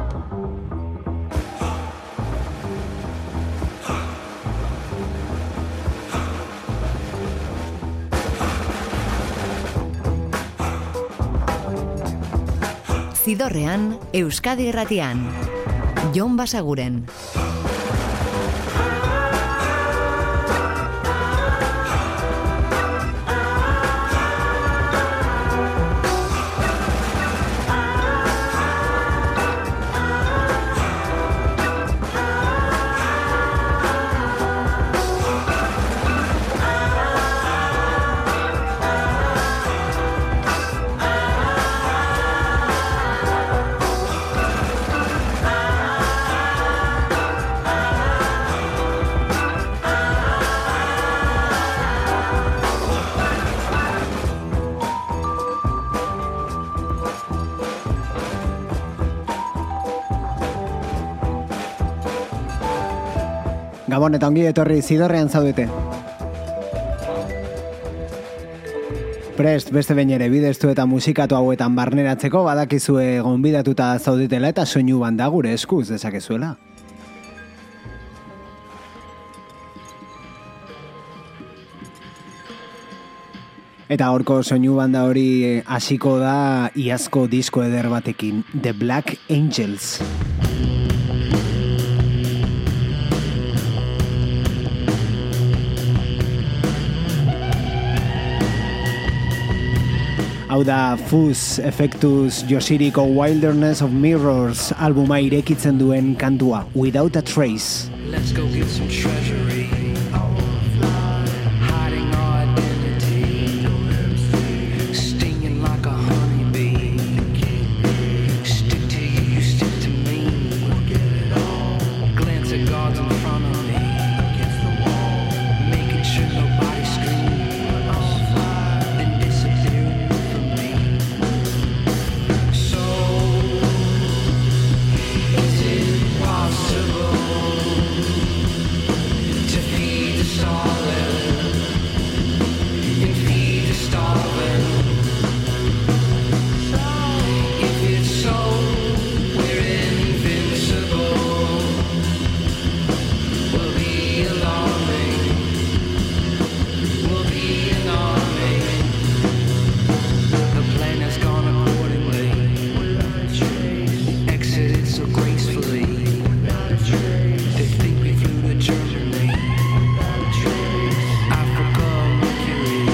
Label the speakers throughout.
Speaker 1: Zidorrean, Euskadi Irratian. Jon Basaguren.
Speaker 2: Gabon eta ongi etorri Zidorrean zaudete. Prest beste behin ere bideztu eta musikatu hauetan barneratzeko badakizue gonbidatuta zaudetela eta soinu banda gure eskuz dezakezuela. Eta horko soinu banda hori hasiko da iazko disko eder batekin, The Black Angels. Hau da Fuzz Effectus Yoshiriko Wilderness of Mirrors albuma irekitzen duen kantua, Without a Trace.
Speaker 3: Let's go get some treasury. Hiding our identity. Stinging like a honeybee. Stick to you, stick to me. Glance at God's in front of me. Making sure nobody screams. Then disappearing from me. So, is it possible to feed the starving and feed the starving? If it's so, we're invincible. We'll be alarming. We'll be an army. The plan has gone accordingly. Exited so gracefully. They think we flew to Germany. Africa, Mercury.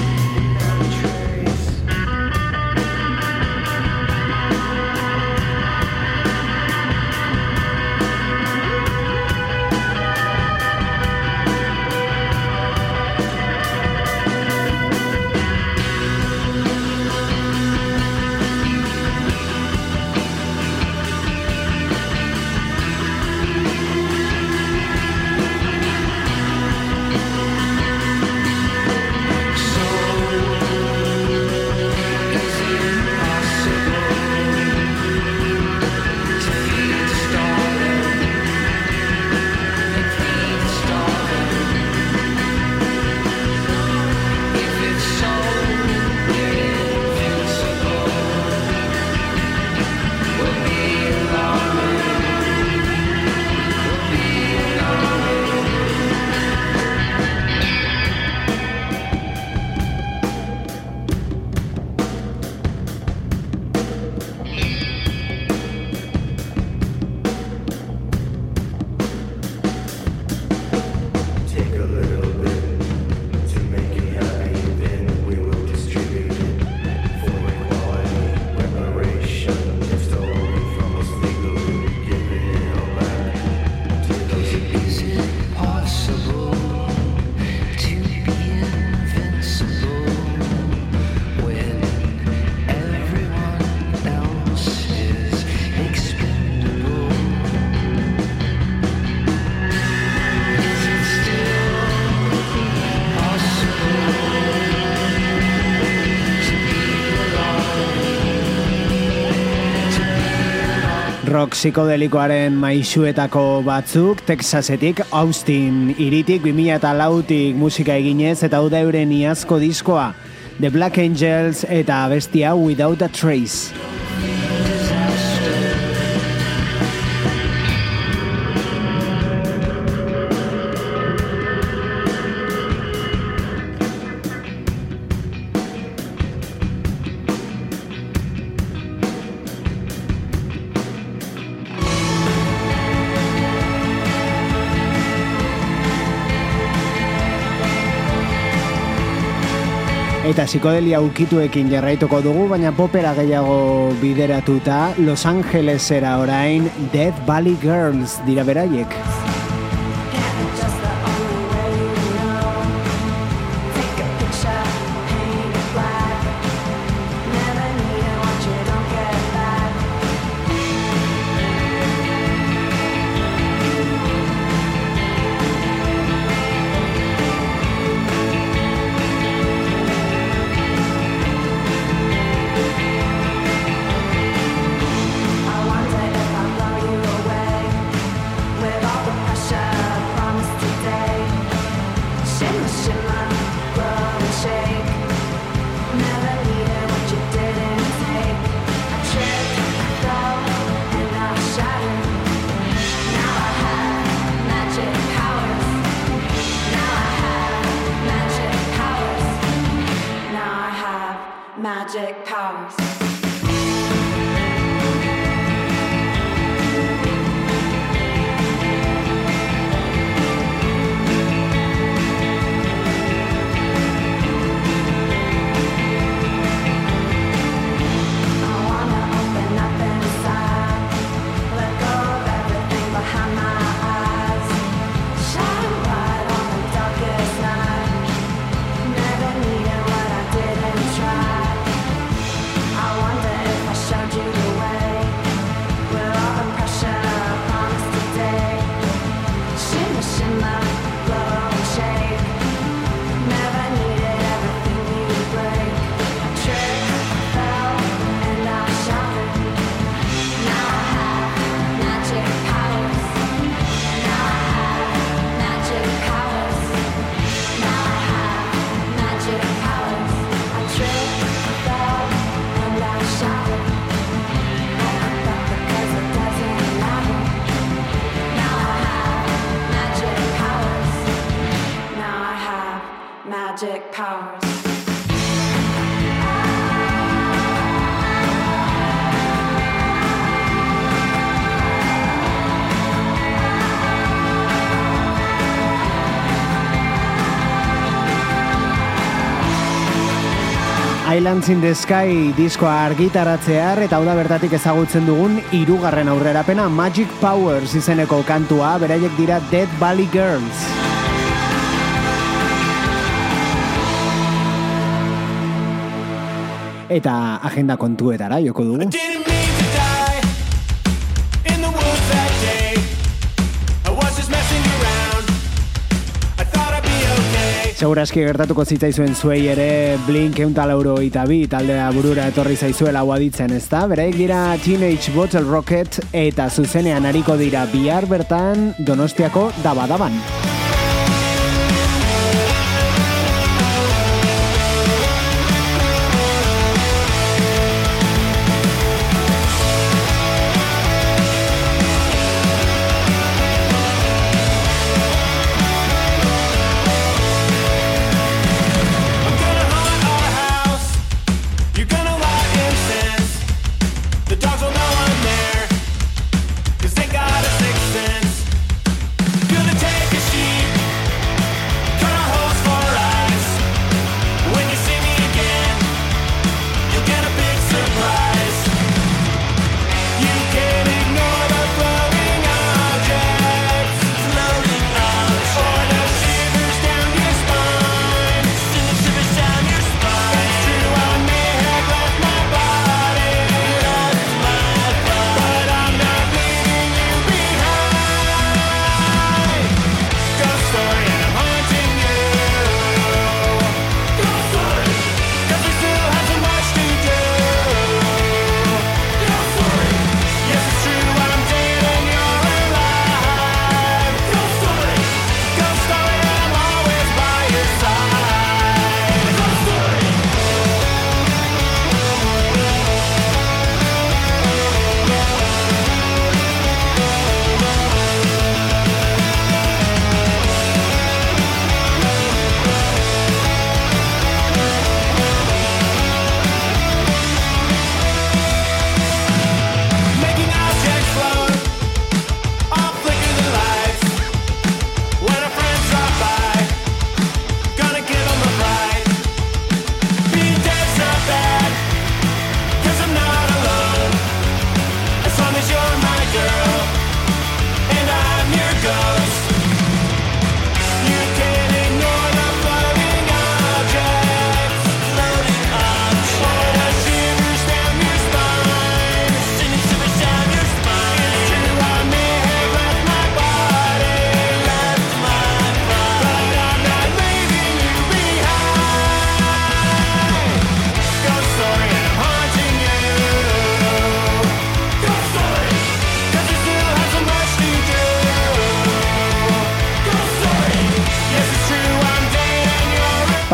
Speaker 3: Is it possible to be invincible when everyone else is expendable? Is it still possible to be alive?
Speaker 2: Rock psikodelikoaren maisuetako batzuk, Texasetik, Austin hiritik 2004tik musika eginez eta hau da euren iazko diskoa, The Black Angels eta abestia Without a Trace. Eta psikodelia ukituekin jarraituko dugu, baina popera gehiago bideratuta, Los Angelesera orain Death Valley Girls dira beraiek.
Speaker 4: Magic powers. Magic powers.
Speaker 2: Islands in the Sky diskoa argitaratzear eta hau da bertatik ezagutzen dugun hirugarren aurrerapena Magic Powers izeneko kantua, beraiek dira Death Valley Girls. Eta agenda kontuetara joko dugu. Segurazki gertatuko zitzaizuen zuei ere Blink 182 taldea burura etorri zaizuela hau aditzen, ezta? Beraiek dira Teenage Bottle Rocket eta zuzenean ariko dira bihar bertan Donostiako Dabadaban.
Speaker 5: Gonna take a sheet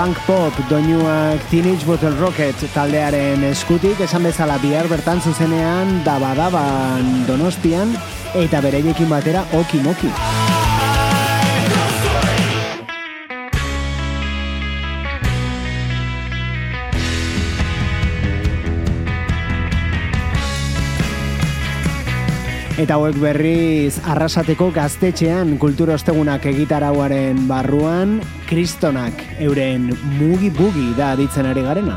Speaker 2: punk pop doinuak Teenage Bottle Rocket taldearen eskutik, esan bezala bihar bertan zuzenean Daba-Daban Donostian eta bereiekin batera Oki Moki. Eta hauek berriz Arrasateko Gaztetxean kultura ostegunak egitarauaren barruan Kristonak euren Mugi Bugi da aditzen ari garena.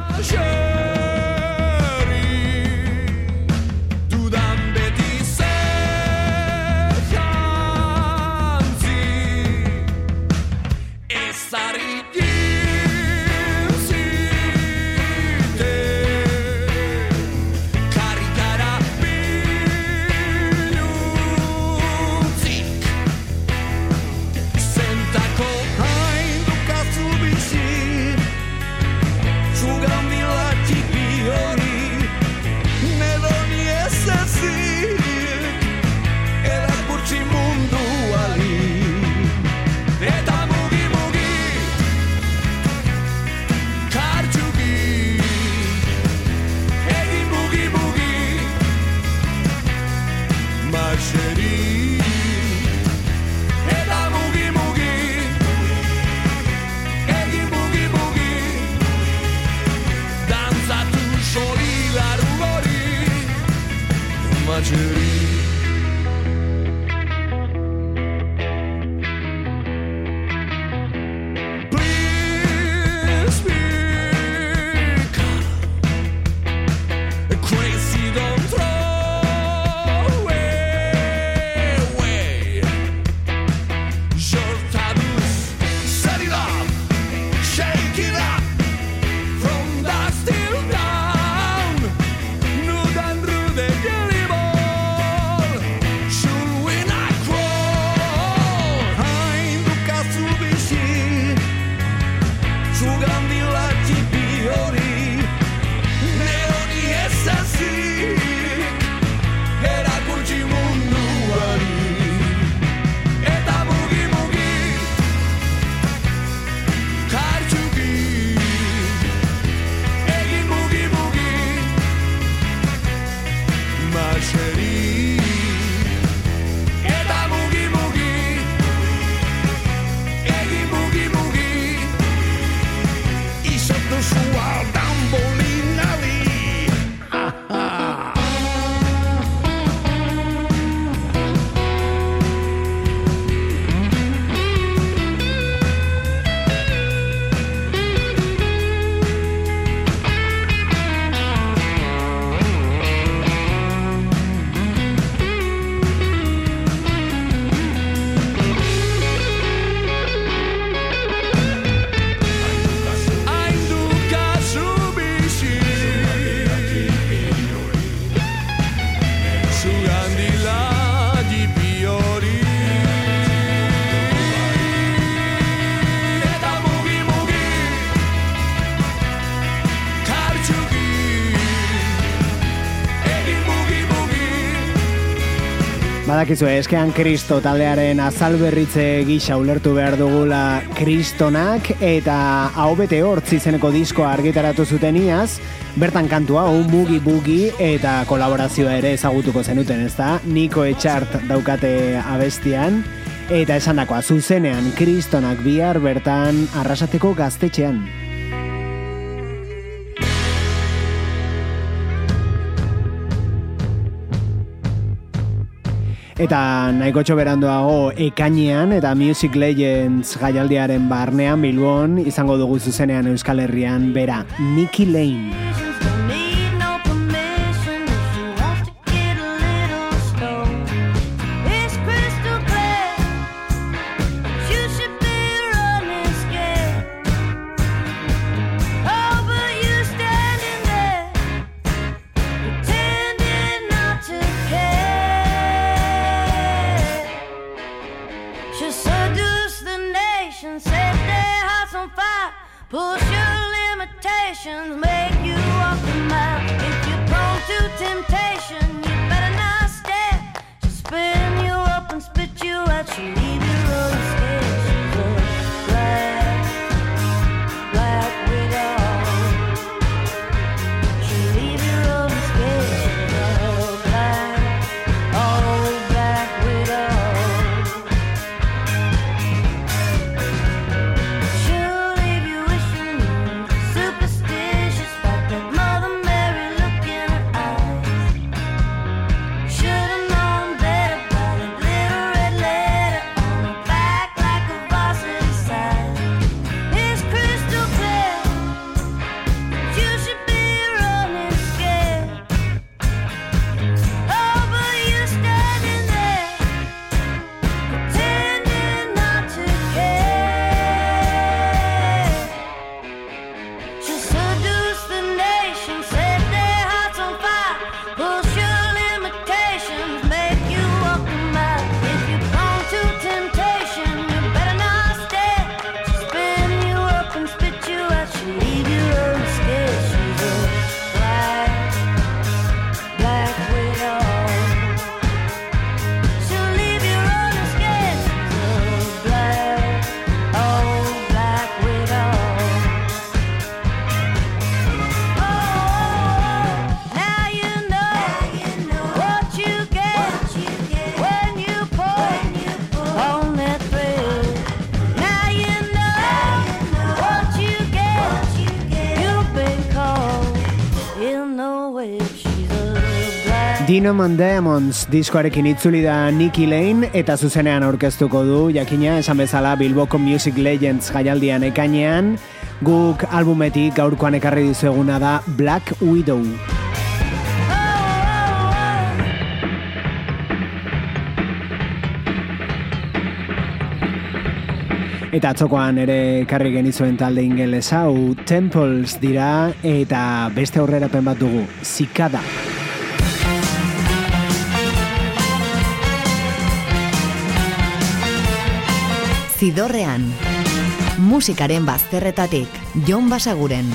Speaker 2: Badakizu, eskean Kristo taldearen azalberritze gisa ulertu behar dugula Kristonak, eta hau bete hortz izeneko diskoa argitaratu zuten iaz, bertan kantua, hau Mugi Bugi, eta kolaborazioa ere ezagutuko zenuten, ezta? Niko Etxart daukate abestian, eta esandakoa zuzenean Kristonak bihar bertan Arrasateko Gaztetxean. Eta nahikotxo beranduago ekainean eta Music Legends jaialdiaren barnean Bilbon izango dugu zuzenean Euskal Herrian bera, Nikki Lane.
Speaker 5: Push your limitations, make you walk the mile. If you're prone to temptation, you better not stare. She'll spin you up and spit you out. She'll leave you on the stairs. She's a black
Speaker 2: Kingdom and Demons diskoarekin itzuli da Nicky Lane eta zuzenean aurkeztuko du, jakina esan bezala Bilboko Music Legends jaialdian ekainean, guk albumetik gaurkoan ekarri dizueguna da Black Widow. Eta atzokoan ere ekarri genizuen talde ingeles hau Temples dira eta beste aurrerapen bat dugu, Zikada.
Speaker 1: Zidorrean, musikaren bazterretatik, Jon Basaguren.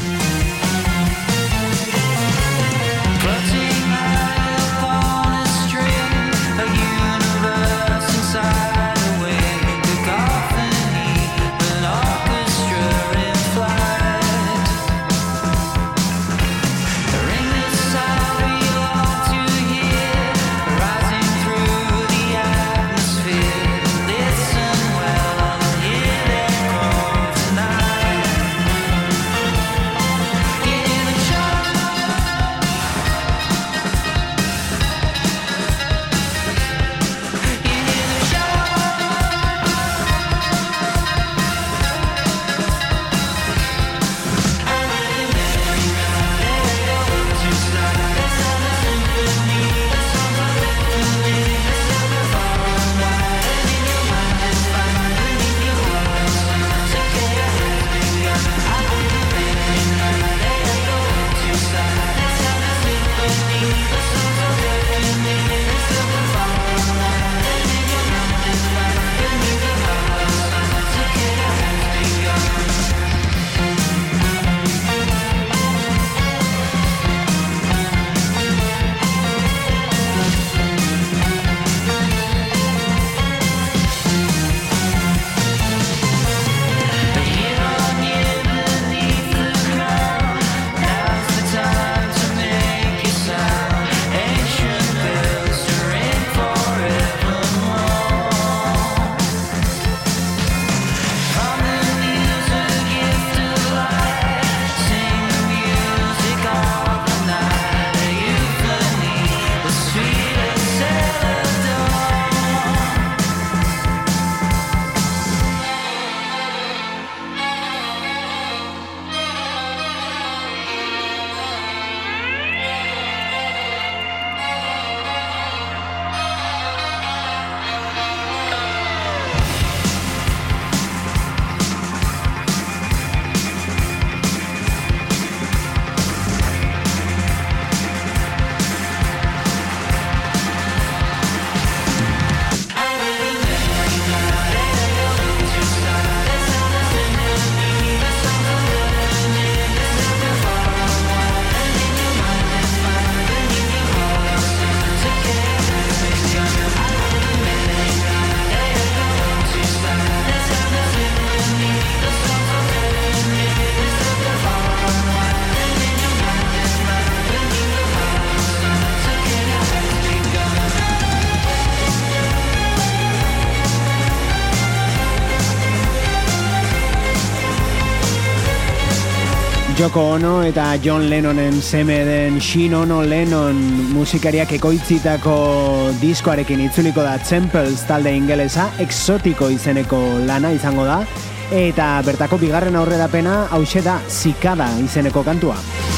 Speaker 2: Yoko Ono eta John Lennonen seme den Shin Ono Lennon musikariak ekoitzitako diskoarekin itzuliko da Temples talde ingelesa, Exotiko izeneko lana izango da, eta bertako bigarren aurrerapena hauxe da Zikada izeneko kantua.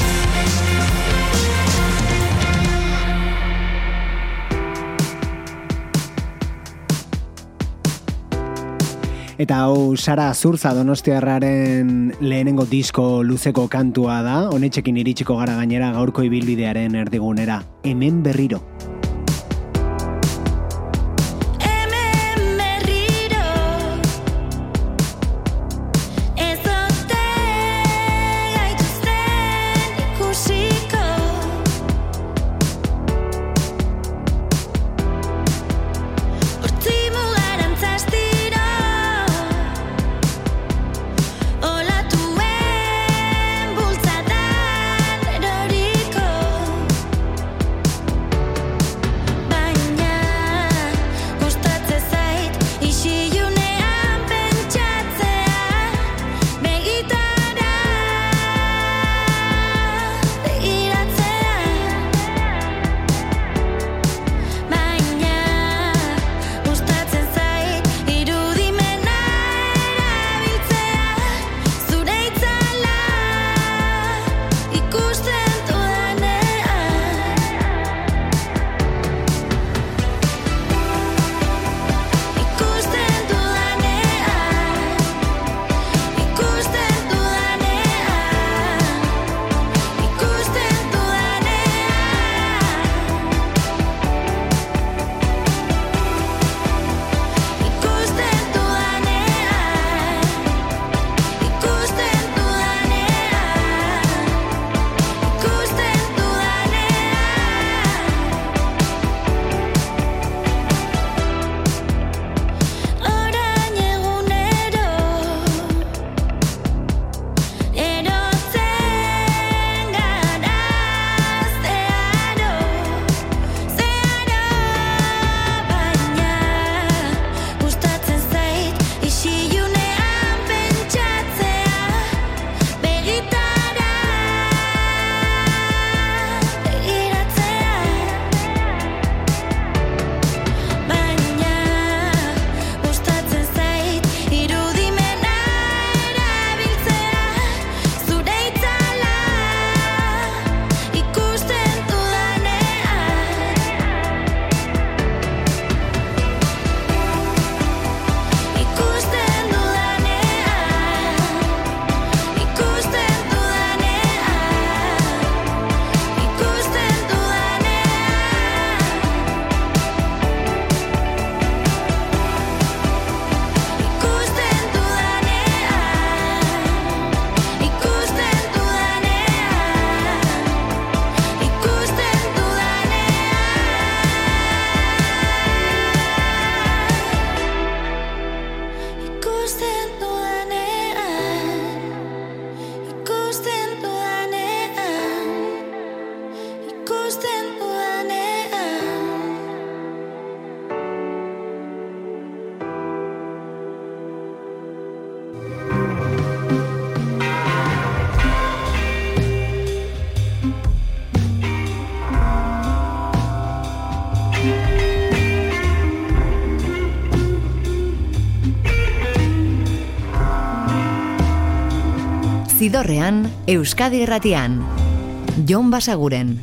Speaker 2: Eta hau Sara Azurza donostiarraren lehenengo disko luzeko kantua da, honetxekin iritsiko gara gainera gaurko ibilbidearen erdigunera, hemen berriro.
Speaker 1: Zidorrean, Euskadi Irratian. Jon Basaguren.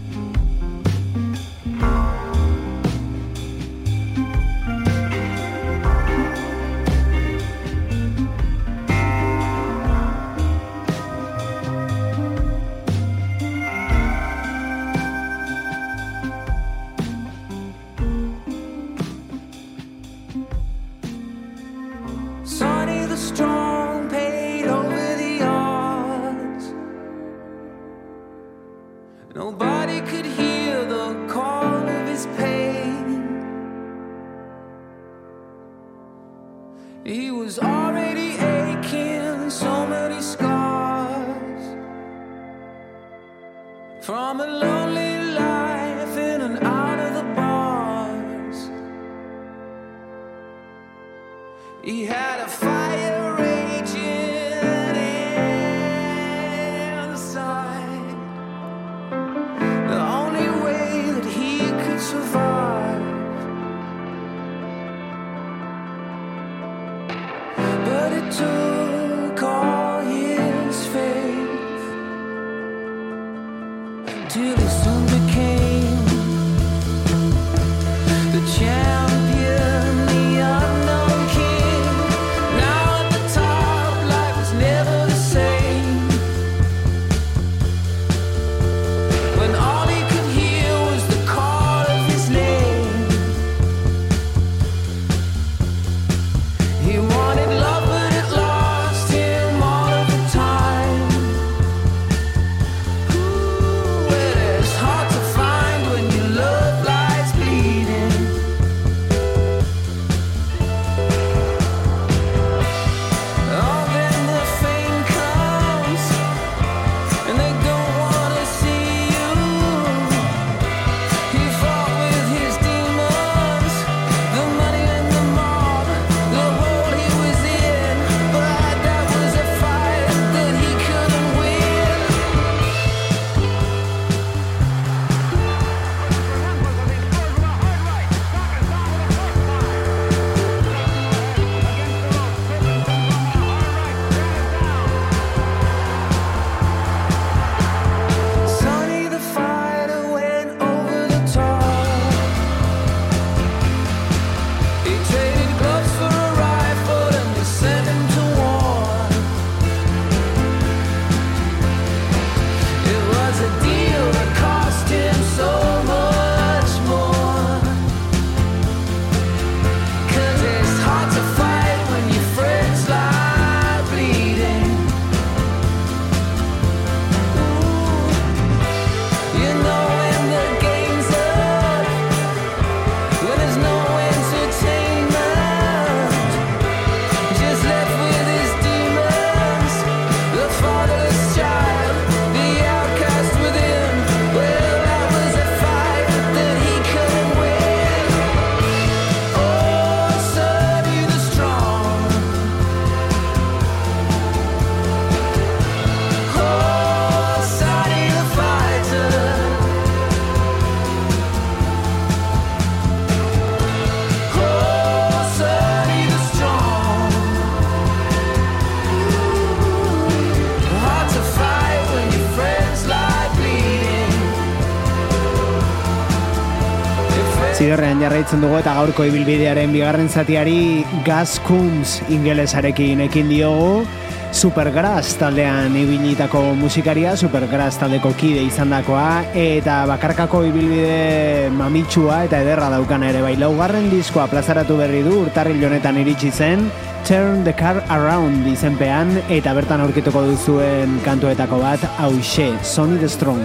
Speaker 2: Zidorrean jarraitzen dugu eta gaurko ibilbidearen bigarren zatiari Gus Coombs ingelesarekin ekin diogu. Supergrass taldean ibilitako musikaria, Supergrass taldeko kide izandakoa, eta bakarkako ibilbide mamitsua eta ederra daukana ere bai. Laugarren diskoa plazaratu berri du, urtarril honetan iritsi zen, Turn the Car Around izenpean, eta bertan aurkituko duzuen kantuetako bat, hauxe, Sonny the Strong.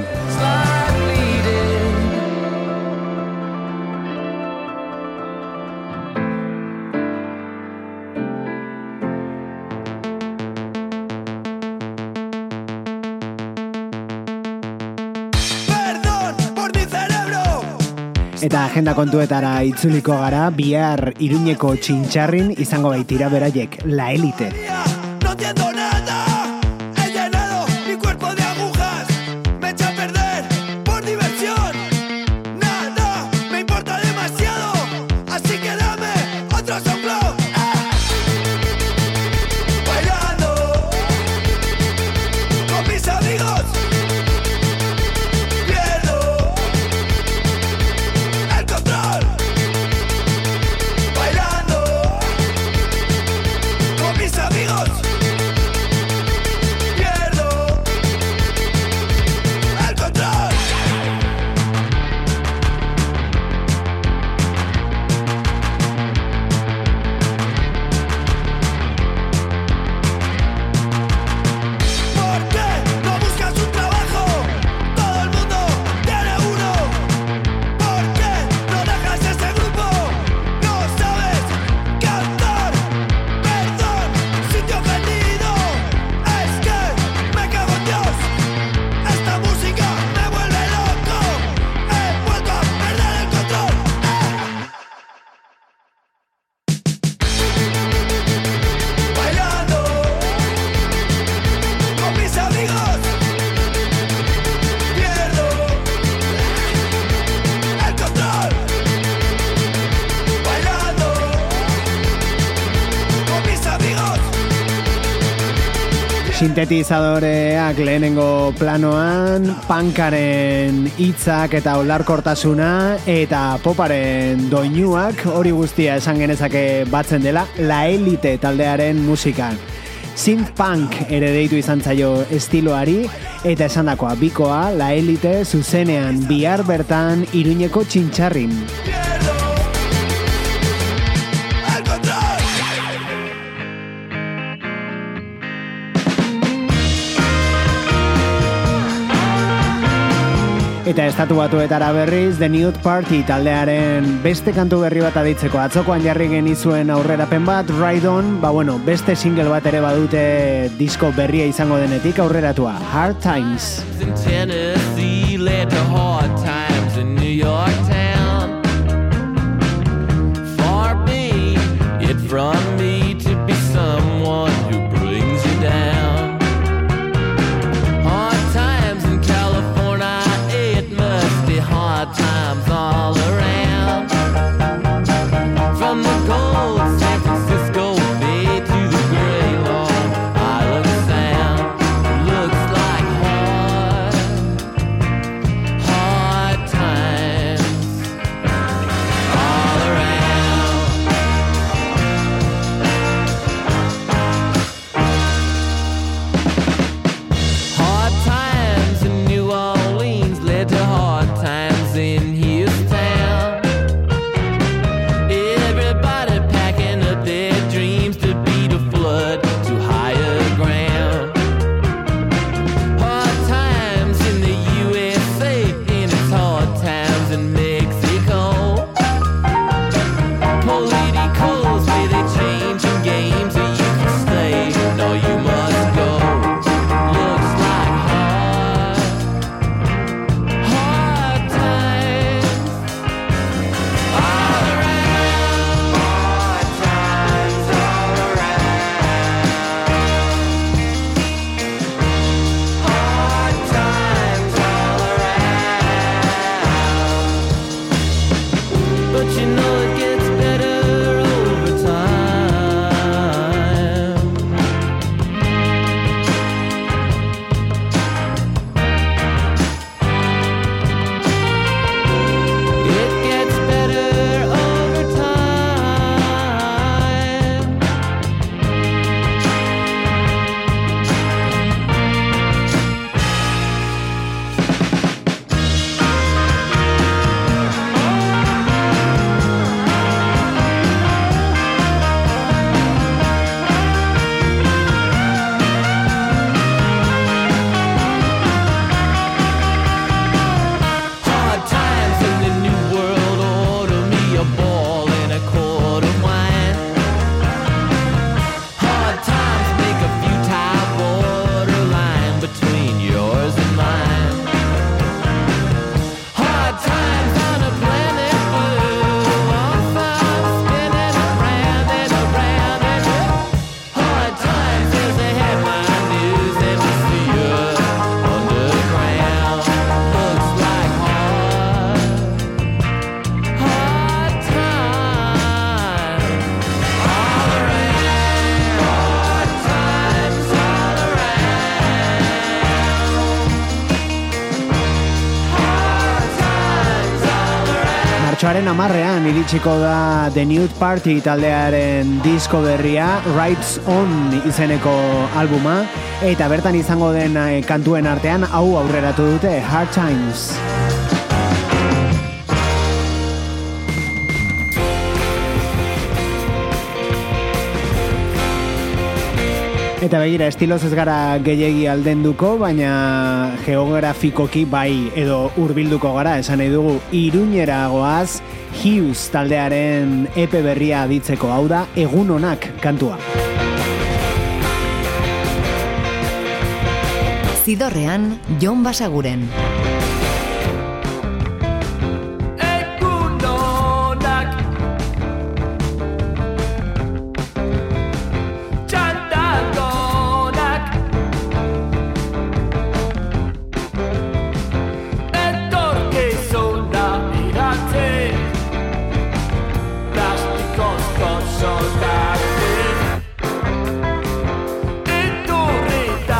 Speaker 2: Eta agenda kontuetara itzuliko gara, bihar Iruñeko Txintxarrin izango baitira beraiek, La Elite.
Speaker 6: No entiendo nada, he llenado mi cuerpo de agujas, me echa a perder por diversión. Nada me importa demasiado, así que dame otro soplo. Bailando
Speaker 2: Sintetizadoreak lehenengo planoan, punkaren hitzak eta olarkortasuna eta poparen doinuak hori guztia esan genezake batzen dela La Elite taldearen musikan. Synth punk ere deitu izan zaio estiloari eta esandakoa bikoa La Elite zuzenean bihar bertan Iruñeko Txintxarrin. Eta estatu batuetara berriz, The Nude Party taldearen beste kantu berri bat aditzeko. Atzokoan jarri genizuen aurrerapen bat, Ride On, beste single bat ere badute disko berria izango denetik aurreratua, Hard Times.
Speaker 7: In Tennessee led to hard times in New York town. Far be it from me to be someone who brings you down. Hard times all around. From the cold San Francisco Bay to the gray Long Island Sound. Looks like hard times all around. Hard times in New Orleans led to hard times in his town. Everybody packing up their dreams to beat a flood to higher ground. Hard times in the USA and it's hard times in Mexico. Politicals where they changing games or you can stay, no you must go. Looks like hard times all around. Hard times all around. Hard times all around. But you know it gets better over time. It gets better over time. Hard times in the new world order, me a ball and a quart of wine. Hard times make a futile borderline between yours and mine. Hard times on a planet blue, on fire spinning around and around and hard times is the headline news and we see us underground. Looks like hard times all around. Hard times all around. Hard times all around.
Speaker 2: Martxoaren 10ean iritsiko da The Nude Party taldearen disko berria, Rides On izeneko albuma, eta bertan izango den kantuen artean hau aurreratu dute, Hard Times. Eta begira, estiloz ez gara gehiegi aldenduko, baina geografikoki bai edo hurbilduko gara, esan nahi dugu Iruñera goaz, Hughes taldearen EP berria aditzeko, hau da Egun Onak kantua.
Speaker 1: Zidorrean, Jon Basaguren.
Speaker 7: Egun onak txandagonak etorkizuna iratzen plastikozko soldatik iturrita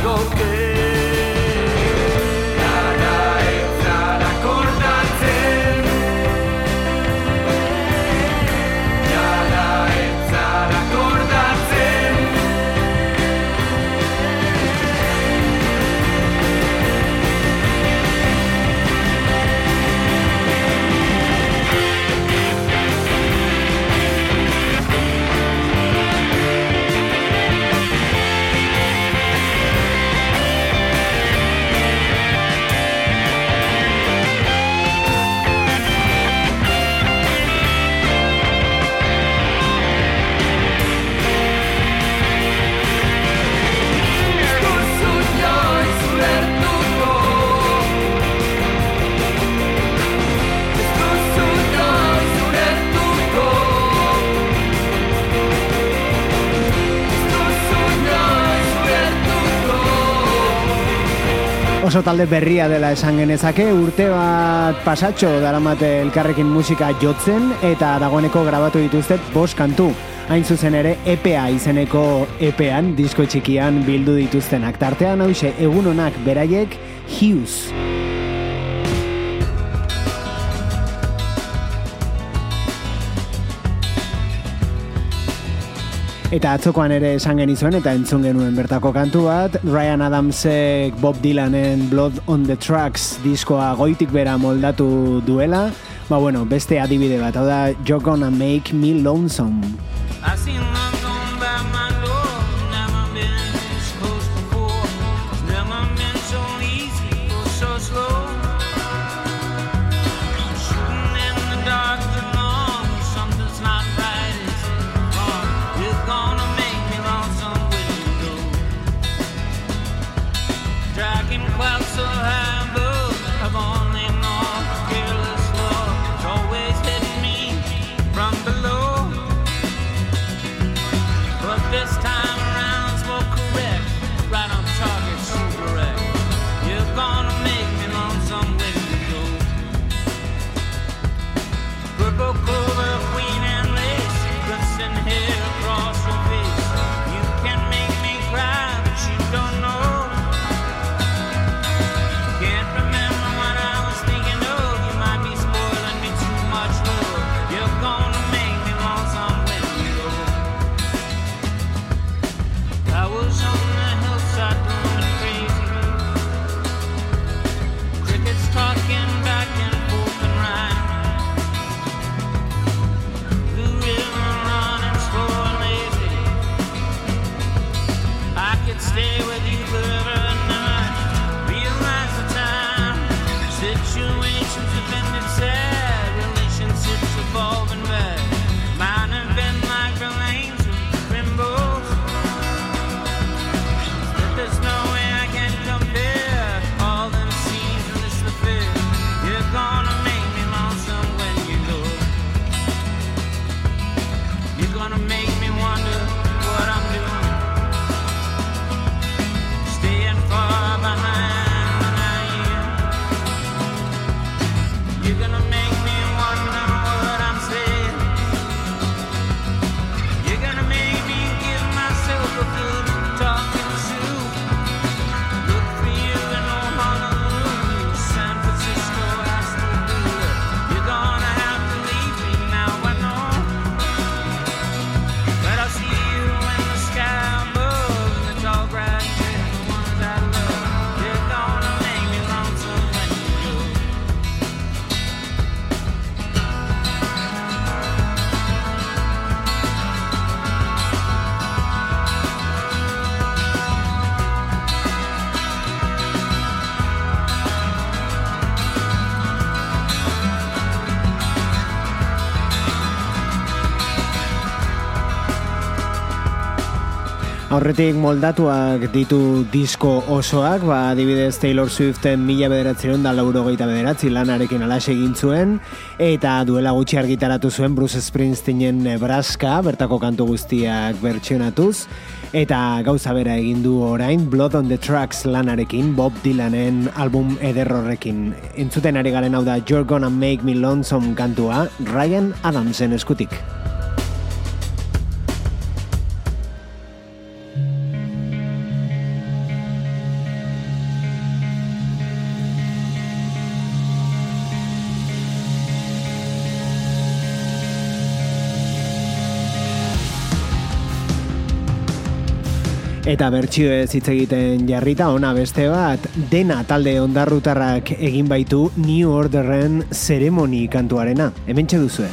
Speaker 3: dago que Gara ez zara kordatzen Gara ez zara kordatzen
Speaker 2: Oso talde berria dela esan genezake, urte bat pasatxo daramate elkarrekin musika jotzen eta dagoeneko grabatu dituztet 5 kantu. Hain zuzen ere EPA izeneko EPan, disko txikian bildu dituztenak. Tartean hauxe egun onak beraiek Hughes. Eta atzokoan ere esan genizuen eta entzun genuen bertako kantu bat, Ryan Adamsek Bob Dylanen Blood on the Tracks diskoa goitik bera moldatu duela, beste adibide bat, hau da You're Gonna Make Me Lonesome.
Speaker 7: I seen love going by my door. Never been this close before. It's never been so easy or so slow. Shooting in the dark too long. Something's not right, it's wrong. You're gonna make me lonesome when you go. Dragging clouds so high above. I've only known careless love. It's always hitting me from below. But this time around's more correct. Right on target, so correct. You're gonna make me lonesome when you go. Purple clover, queen and lace, glistening hair across your face. You can make me cry, but you don't know. Can't remember what I was thinking of. You might be spoiling me too much love. You're gonna make me lonesome when you go. I was on the hillside going crazy. Crickets talking back and forth and rhyme. Blue river running slow and lazy. I could stay with you forever and never realize the time. Situations have ended sad, relationships evolving bad. Mine have been like the lanes of rainbows. There's no way I can compare all them scenes and this affair. You're gonna make me lonesome when you go. You're gonna make me wonder what I'm doing. Staying far behind when I am. You're gonna make me wonder what I'm saying. You're gonna make me give myself a good talking to. Look for you in old Honolulu, San Francisco, I still do it. You're gonna have to leave me now, I know. But I'll see you in the sky above, in the tall grass, the ones I love. You're gonna make me lonesome when you go.
Speaker 2: Aurretik moldatuak ditu disko osoak, adibidez Taylor Swiften 1989 lanarekin alaxe egin zuen, eta duela gutxi argitaratu zuen Bruce Springsteenen Nebraska, bertako kantu guztiak bertsionatuz, eta gauza bera egin du orain Blood on the Tracks lanarekin, Bob Dylanen album ederrorrekin. Entzuten ari garen hau da You're Gonna Make Me Lonesome kantua, Ryan Adamsen eskutik. Eta bertsioez hitz egiten jarrita ona beste bat, Dena talde ondarrutarrak egin baitu New Orderren Ceremony kantuarena. Hementxe duzue.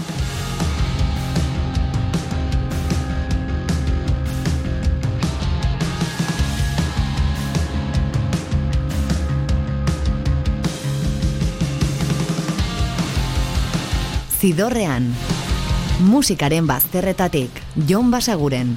Speaker 1: Zidorrean, musikaren bazterretatik, Jon Basaguren.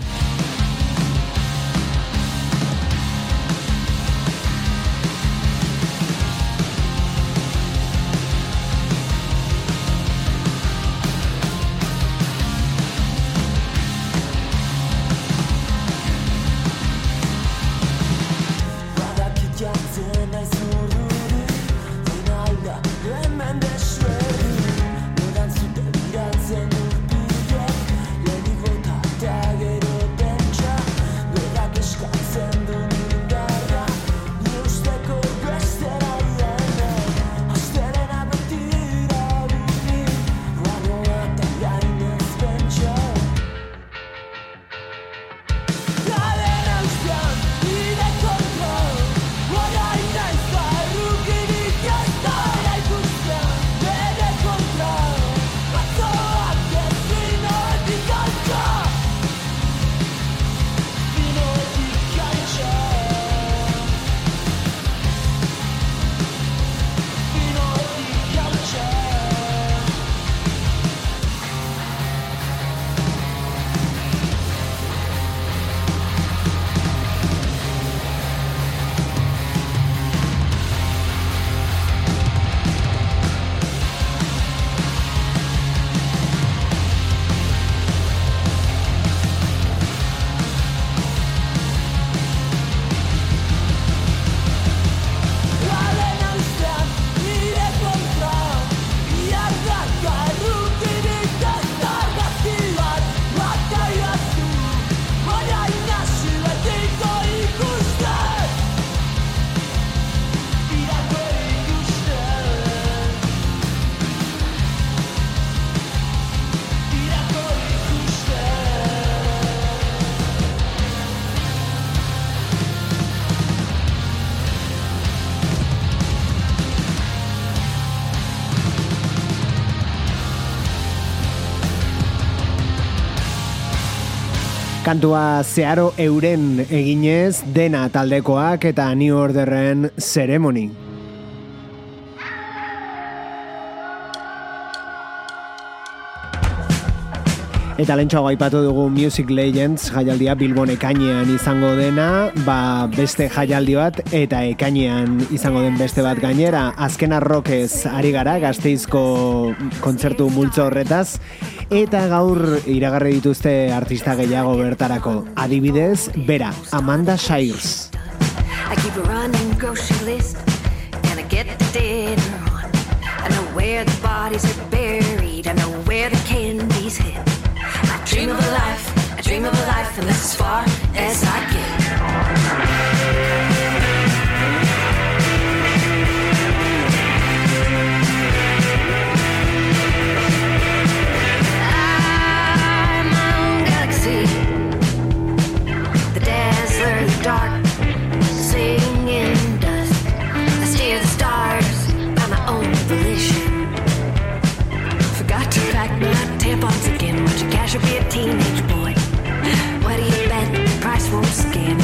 Speaker 2: Kantua zeharo euren eginez, Dena taldekoak eta New Orderren Ceremony. Eta lentsuago aipatu dugu Music Legends jaialdia Bilbon ekainean izango dena, beste jaialdi bat eta ekainean izango den beste bat gainera. Azken arrokez ari gara Gasteizko kontzertu multzo horretaz, eta gaur iragarri dituzte artista gehiago bertarako. Adibidez, bera, Amanda Shires.
Speaker 5: I keep a running grocery list and I get the dinner on. I know where the bodies are buried, I know where the candy's hid. I dream of a life, and that's as far as I get. I'm my own galaxy, the dazzler, the dark, singing dust. I steer the stars by my own volition. Forgot to pack my tampons again. Want your cash or be a teenage boy? What do you bet? The price won't scan.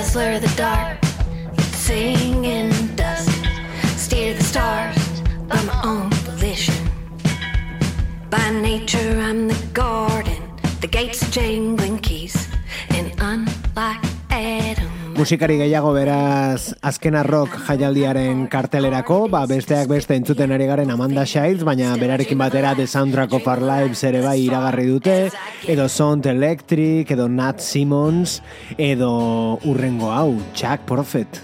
Speaker 5: slur the dark, sing in dust, steer the stars by my own volition. By nature I'm the garden, the gates of jangling keys, and unlike Adam.
Speaker 2: Musikari gehiago beraz azkena rock jaialdiaren kartelerako, besteak beste entzuten ari garen Amanda Shires, baina berarekin batera The Soundtrack of Our Lives ere bai iragarri dute, edo Sound Electric, edo Nat Simmons, edo urrengo hau, Chuck Prophet.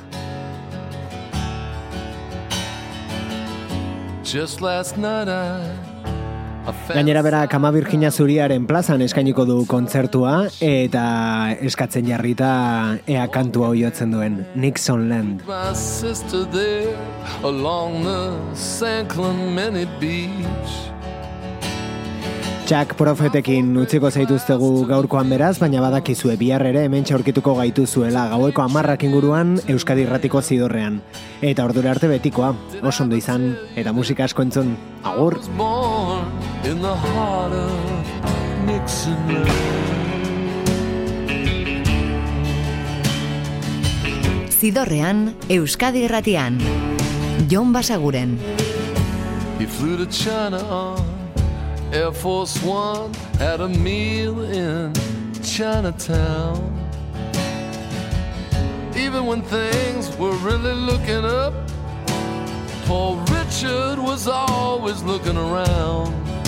Speaker 7: Just last night
Speaker 2: Gainera bera Kama Virginia Zuriaren plazan eskainiko du kontzertua eta eskatzen jarrita ea kantua oiotzen duen Nixon Land.
Speaker 7: My sister there along the San Clemente beach.
Speaker 2: Chuck Prophetekin utziko zaituztegu gaurkoan beraz, baina badakizue bihar ere hementxe aurkituko gaituzuela gaueko 10 inguruan Euskadi Irratiko Zidorrean. Eta ordura arte betikoa, oso ondo izan eta musika asko entzun. Agur!
Speaker 7: Born in the heart of Nixon.
Speaker 1: Zidorrean, Euskadi Irratian. Jon Basaguren.
Speaker 7: He flew to China on Air Force One, had a meal in Chinatown. Even when things were really looking up, Paul Richard was always looking around.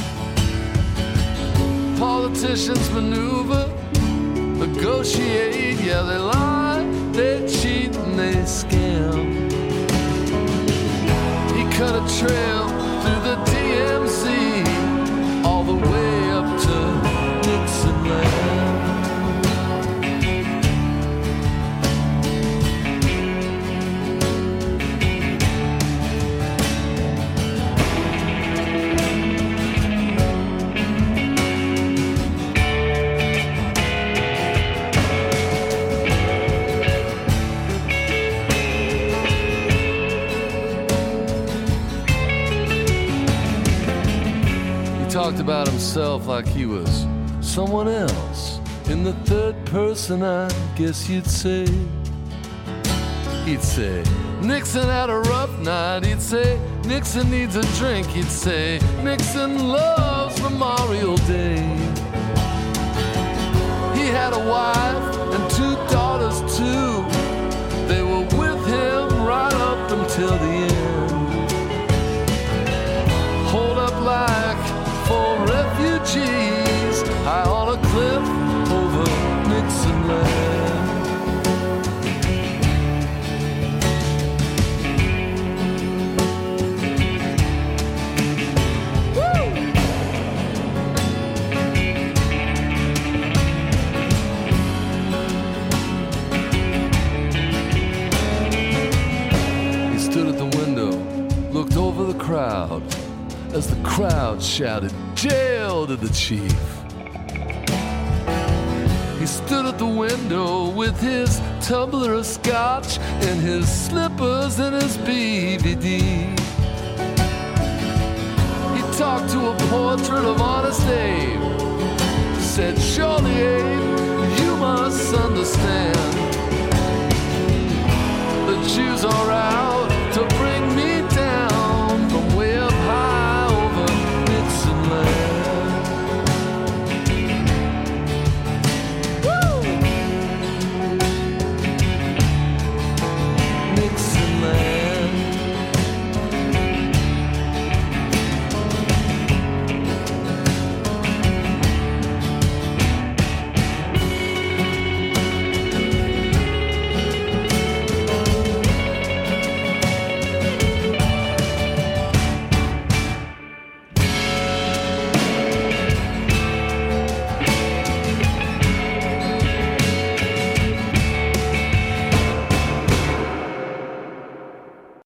Speaker 7: Politicians maneuver, negotiate, yeah, they lie, they cheat, and they scam. He cut a trail through the DMZ, all the way up to Nixon Land. Talked about himself like he was someone else. In the third person, I guess you'd say. He'd say, Nixon had a rough night. He'd say, Nixon needs a drink. He'd say, Nixon loves Memorial Day. He had a wife and 2 daughters too. They were with him right up until the end. Hold up like for refugees high on a cliff over Nixon Land. He stood at the window, looked over the crowd as the crowd shouted, "Jail to the chief." He stood at the window with his tumbler of scotch and his slippers and his BVD. He talked to a portrait of Honest Abe, said, "Surely, Abe,